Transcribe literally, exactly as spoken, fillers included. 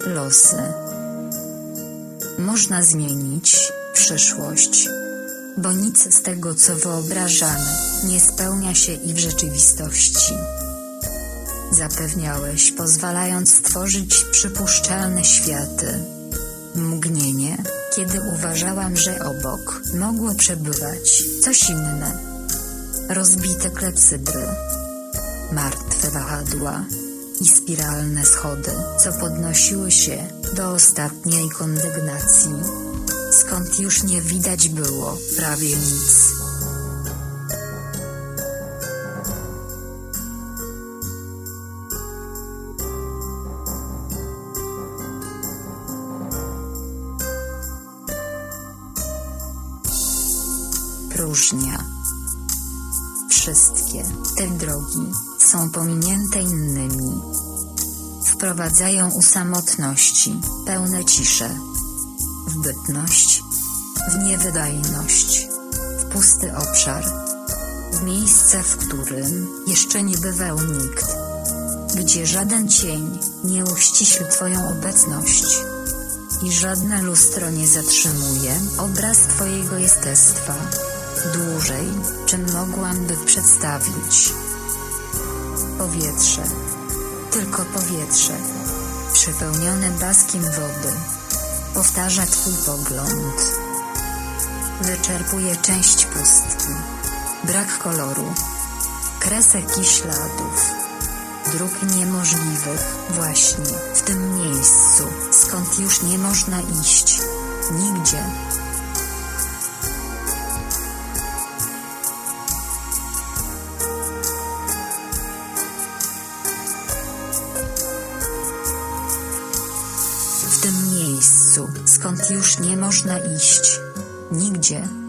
losy. Można zmienić przyszłość, bo nic z tego, co wyobrażamy, nie spełnia się i w rzeczywistości. Zapewniałeś, pozwalając stworzyć przypuszczalne światy. Mgnienie, kiedy uważałam, że obok mogło przebywać coś inne. Rozbite klepsydry, martwe wahadła i spiralne schody, co podnosiły się do ostatniej kondygnacji, skąd już nie widać było prawie nic. Próżnia. Wszystkie te drogi są pominięte innymi. Wprowadzają u samotności, pełne ciszę, w bytność, w niewydajność, w pusty obszar, w miejsce, w którym jeszcze nie bywał nikt, gdzie żaden cień nie uściśli twoją obecność i żadne lustro nie zatrzymuje obraz twojego jestestwa dłużej, czym mogłam by przedstawić. Powietrze, tylko powietrze, przepełnione blaskiem wody, powtarza twój pogląd. Wyczerpuje część pustki, brak koloru, kresek i śladów, dróg niemożliwych właśnie w tym miejscu, skąd już nie można iść, nigdzie. W tym miejscu, skąd już nie można iść, nigdzie.